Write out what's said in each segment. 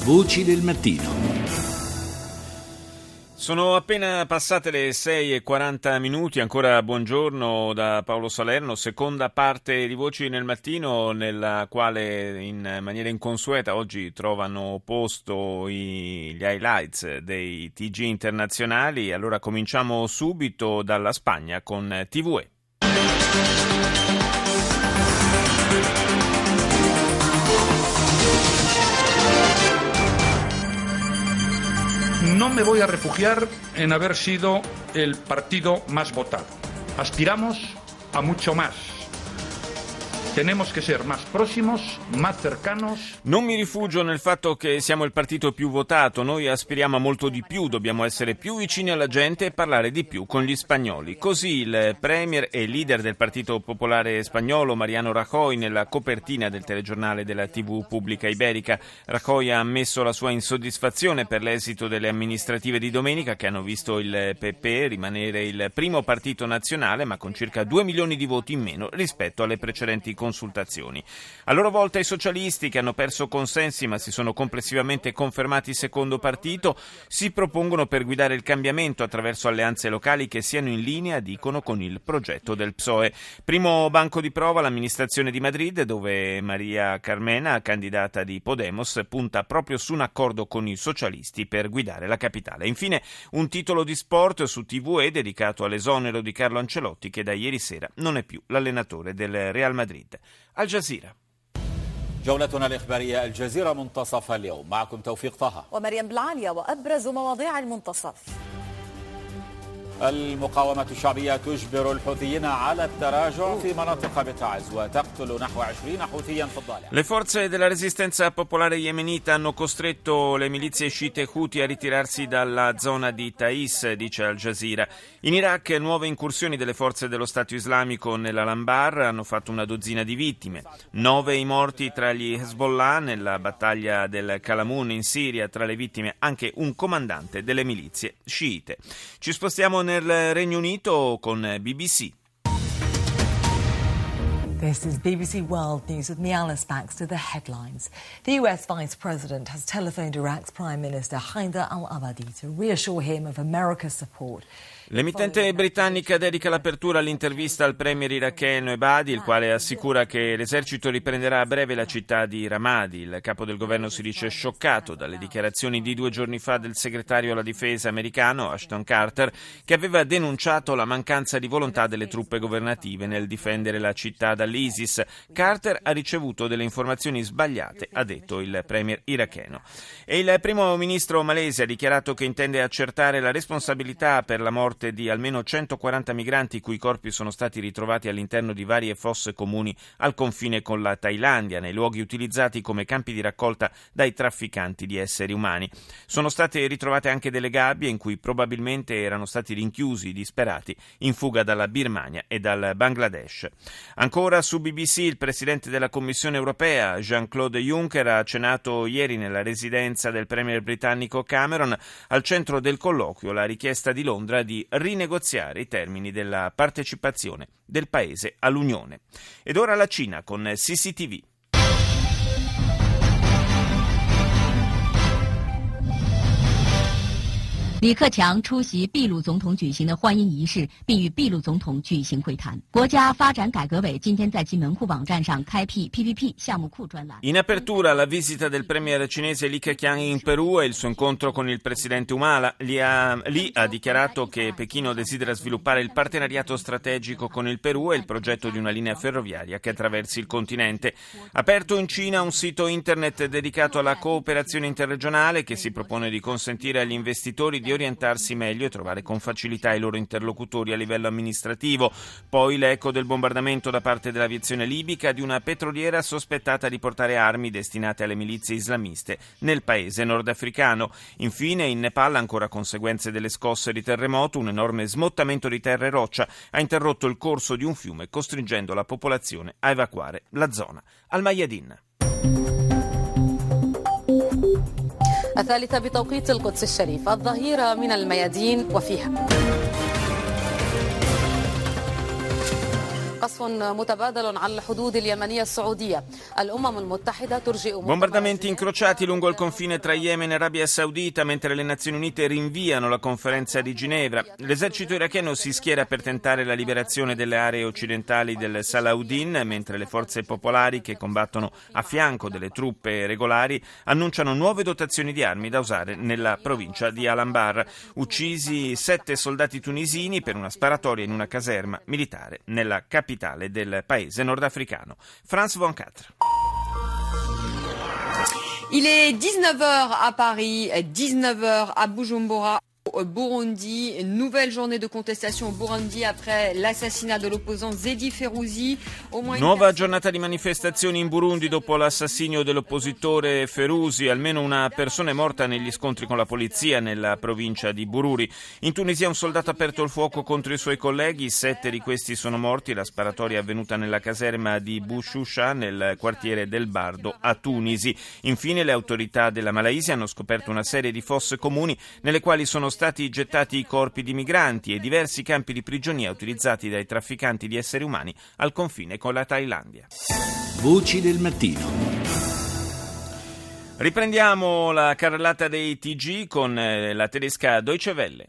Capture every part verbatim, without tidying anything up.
Voci del mattino. Sono appena passate le sei e quaranta minuti, ancora buongiorno da Paolo Salerno, seconda parte di Voci nel Mattino, nella quale in maniera inconsueta oggi trovano posto i, gli highlights dei T G internazionali. Allora cominciamo subito dalla Spagna con T V E. No me voy a refugiar en haber sido el partido más votado. Aspiramos a mucho más. Tenemos que ser más próximos, más cercanos. Non mi rifugio nel fatto che siamo il partito più votato, noi aspiriamo a molto di più, dobbiamo essere più vicini alla gente e parlare di più con gli spagnoli. Così il premier e leader del Partito Popolare Spagnolo, Mariano Rajoy, nella copertina del telegiornale della tivù pubblica iberica. Rajoy ha ammesso la sua insoddisfazione per l'esito delle amministrative di domenica, che hanno visto il P P rimanere il primo partito nazionale, ma con circa due milioni di voti in meno rispetto alle precedenti consultazioni. A loro volta i socialisti, che hanno perso consensi ma si sono complessivamente confermati secondo partito, si propongono per guidare il cambiamento attraverso alleanze locali che siano in linea, dicono, con il progetto del P S O E. Primo banco di prova l'amministrazione di Madrid, dove Maria Carmena, candidata di Podemos, punta proprio su un accordo con i socialisti per guidare la capitale. Infine un titolo di sport su T V E dedicato all'esonero di Carlo Ancelotti, che da ieri sera non è più l'allenatore del Real Madrid. Al Jazeera. جولتنا الإخبارية الجزيرة منتصف اليوم معكم توفيق طه ومريم بلعالية وأبرز مواضيع المنتصف. المقاومة الشعبية تجبر الحوثيين على التراجع في مناطق بتعز وتقتل نحو عشرين حوثيا في الضالع. Le forze della resistenza popolare yemenita hanno costretto le milizie sciite Houthi a ritirarsi dalla zona di Taiz, dice Al Jazeera. In Iraq nuove incursioni delle forze dello Stato Islamico nell'Al-Anbar hanno fatto una dozzina di vittime. Nove i morti tra gli Hezbollah nella battaglia del Kalamun in Siria, tra le vittime anche un comandante delle milizie sciite. Ci spostiamo nel Regno Unito con B B C. This is B B C World News with me, Alice Baxter. The headlines. The U S Vice President has telephoned Iraq's Prime Minister Haider al-Abadi to reassure him of America's support. L'emittente britannica dedica l'apertura all'intervista al premier iracheno Ebadi, il quale assicura che l'esercito riprenderà a breve la città di Ramadi. Il capo del governo si dice scioccato dalle dichiarazioni di due giorni fa del segretario alla difesa americano Ashton Carter, che aveva denunciato la mancanza di volontà delle truppe governative nel difendere la città dall'ISIS. Carter ha ricevuto delle informazioni sbagliate, ha detto il premier iracheno. E il primo ministro malese ha dichiarato che intende accertare la responsabilità per la morte di almeno centoquaranta migranti i cui corpi sono stati ritrovati all'interno di varie fosse comuni al confine con la Thailandia, nei luoghi utilizzati come campi di raccolta dai trafficanti di esseri umani. Sono state ritrovate anche delle gabbie in cui probabilmente erano stati rinchiusi i disperati in fuga dalla Birmania e dal Bangladesh. Ancora su B B C, il presidente della Commissione europea Jean-Claude Juncker ha cenato ieri nella residenza del premier britannico Cameron. Al centro del colloquio la richiesta di Londra di rinegoziare i termini della partecipazione del paese all'Unione. Ed ora la Cina con C C T V. 李克强出席秘鲁总统举行的欢迎仪式，并与秘鲁总统举行会谈。国家发展改革委今天在其门户网站上开辟 P P P 项目库专栏。 In apertura la visita del premier cinese Li Keqiang in Perù e il suo incontro con il presidente Humala. Li ha, Li ha dichiarato che Pechino desidera sviluppare il partenariato strategico con il Perù e il progetto di una linea ferroviaria che attraversi il continente. Aperto in Cina un sito internet dedicato alla cooperazione interregionale che si propone di consentire agli investitori di orientarsi meglio e trovare con facilità i loro interlocutori a livello amministrativo. Poi l'eco del bombardamento da parte dell'aviazione libica di una petroliera sospettata di portare armi destinate alle milizie islamiste nel paese nordafricano. Infine in Nepal, ancora conseguenze delle scosse di terremoto, un enorme smottamento di terra e roccia ha interrotto il corso di un fiume, costringendo la popolazione a evacuare la zona. Al Mayadin. الثالثة بتوقيت القدس الشريف الظهيرة من الميادين وفيها قصف متبادل على الحدود اليمنية السعودية. الأمم المتحدة ترجئ Bombardamenti incrociati lungo il confine tra Yemen e Arabia Saudita mentre le Nazioni Unite rinviano la conferenza di Ginevra. L'esercito iracheno si schiera per tentare la liberazione delle aree occidentali del Salahuddin, mentre le forze popolari che combattono a fianco delle truppe regolari annunciano nuove dotazioni di armi da usare nella provincia di Al-Anbar. Uccisi sette soldati tunisini per una sparatoria in una caserma militare nella capitale del paese nordafricano. France ventiquattro. Il est dix-neuf heures à Paris, dix-neuf heures à Bujumbura, au Burundi. Nouvelle journée de contestation au Burundi après l'assassinat de l'opposant Zedi Ferouzi. Nuova giornata di manifestazioni in Burundi dopo l'assassinio dell'oppositore Ferouzi. Almeno una persona è morta negli scontri con la polizia nella provincia di Bururi. In Tunisia un soldato ha aperto il fuoco contro i suoi colleghi, sette di questi sono morti. La sparatoria è avvenuta nella caserma di Bouchoucha nel quartiere del Bardo a Tunisi. Infine le autorità della Malaysia hanno scoperto una serie di fosse comuni nelle quali sono stati gettati i corpi di migranti e diversi campi di prigionia utilizzati dai trafficanti di esseri umani al confine con la Thailandia. Voci del mattino. Riprendiamo la carrellata dei T G con la tedesca Deutsche Welle.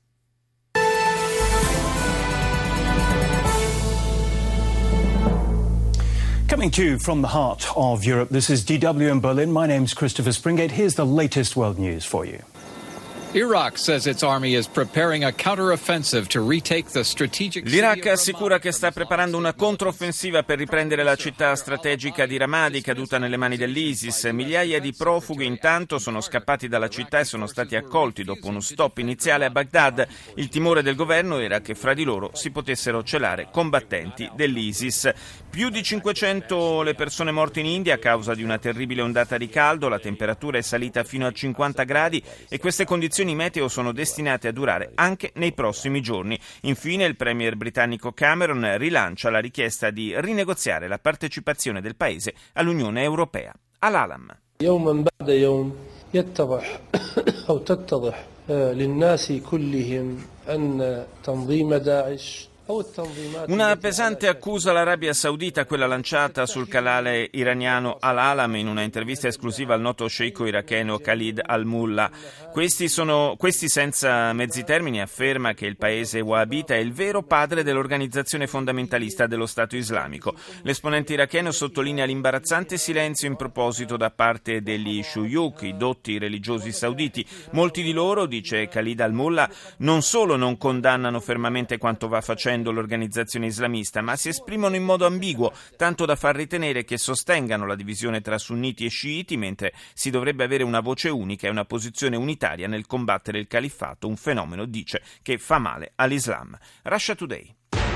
Coming to you from the heart of Europe, this is D W in Berlin. My name's Christopher Springate. Here's the latest world news for you. Iraq says its army is preparing a counter-offensive to retake the strategic city. L'Iraq assicura che sta preparando una controffensiva per riprendere la città strategica di Ramadi, caduta nelle mani dell'ISIS. Migliaia di profughi intanto sono scappati dalla città e sono stati accolti dopo uno stop iniziale a Baghdad. Il timore del governo era che fra di loro si potessero celare combattenti dell'ISIS. Più di cinquecento le persone morte in India a causa di una terribile ondata di caldo. La temperatura è salita fino a cinquanta gradi e queste condizioni I meteo sono destinate a durare anche nei prossimi giorni. Infine il premier britannico Cameron rilancia la richiesta di rinegoziare la partecipazione del paese all'Unione Europea. Al-Alam. يوما بعد يوم يتضح أو تتضح للناس كلهم أن تنظيم داعش. Una pesante accusa all'Arabia Saudita, quella lanciata sul canale iraniano Al-Alam in una intervista esclusiva al noto sceicco iracheno Khalid al-Mullah. Questi, sono, questi senza mezzi termini afferma che il paese wahhabita è il vero padre dell'organizzazione fondamentalista dello Stato islamico. L'esponente iracheno sottolinea l'imbarazzante silenzio in proposito da parte degli shuyukh, i dotti religiosi sauditi. Molti di loro, dice Khalid al-Mullah, non solo non condannano fermamente quanto va facendo l'organizzazione islamista, ma si esprimono in modo ambiguo, tanto da far ritenere che sostengano la divisione tra sunniti e sciiti, mentre si dovrebbe avere una voce unica e una posizione unitaria nel combattere il califfato, un fenomeno, dice, che fa male all'Islam. Russia Today.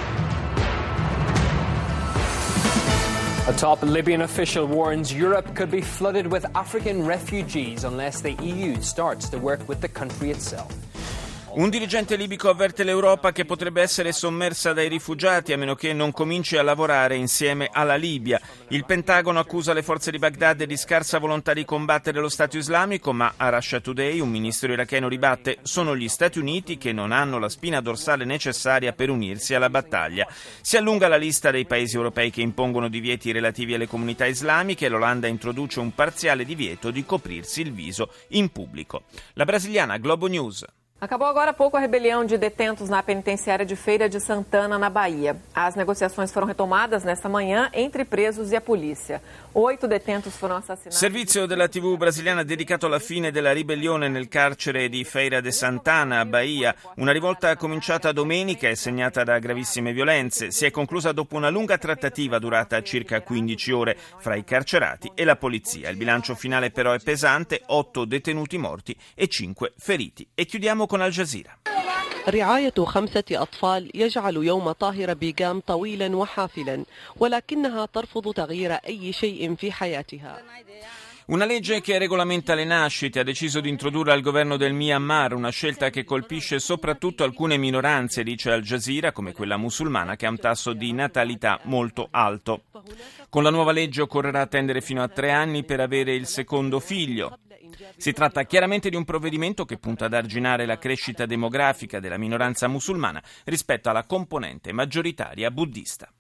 A top Libyan official warns Europe could be flooded with African refugees unless the E U starts to work with the country itself. Un dirigente libico avverte l'Europa che potrebbe essere sommersa dai rifugiati a meno che non cominci a lavorare insieme alla Libia. Il Pentagono accusa le forze di Baghdad di scarsa volontà di combattere lo Stato islamico, ma a Russia Today un ministro iracheno ribatte: sono gli Stati Uniti che non hanno la spina dorsale necessaria per unirsi alla battaglia. Si allunga la lista dei paesi europei che impongono divieti relativi alle comunità islamiche e l'Olanda introduce un parziale divieto di coprirsi il viso in pubblico. La brasiliana Globo News. Acabou agora há pouco a rebelião de detentos na penitenciária de Feira de Santana, na Bahia. As negociações foram retomadas nesta manhã entre presos e a polícia. Oito detentos foram assassinados. Servizio della tivù brasiliana dedicato alla fine della ribellione nel carcere di Feira de Santana, a Bahia. Una rivolta cominciata domenica e segnata da gravissime violenze. Si è conclusa dopo una lunga trattativa durata circa quindici ore fra i carcerati e la polizia. Il bilancio finale però è pesante: otto detenuti morti e cinque feriti. E chiudiamo con Al Jazeera. رعاية خمسة أطفال يجعل يوم طاهر بيغام طويلا وحافلا ولكنها ترفض تغيير أي شيء في حياتها. Una legge che regolamenta le nascite ha deciso di introdurre al governo del Myanmar, una scelta che colpisce soprattutto alcune minoranze, dice Al Jazeera, come quella musulmana, che ha un tasso di natalità molto alto. Con la nuova legge occorrerà attendere fino a tre anni per avere il secondo figlio. Si tratta chiaramente di un provvedimento che punta ad arginare la crescita demografica della minoranza musulmana rispetto alla componente maggioritaria buddista.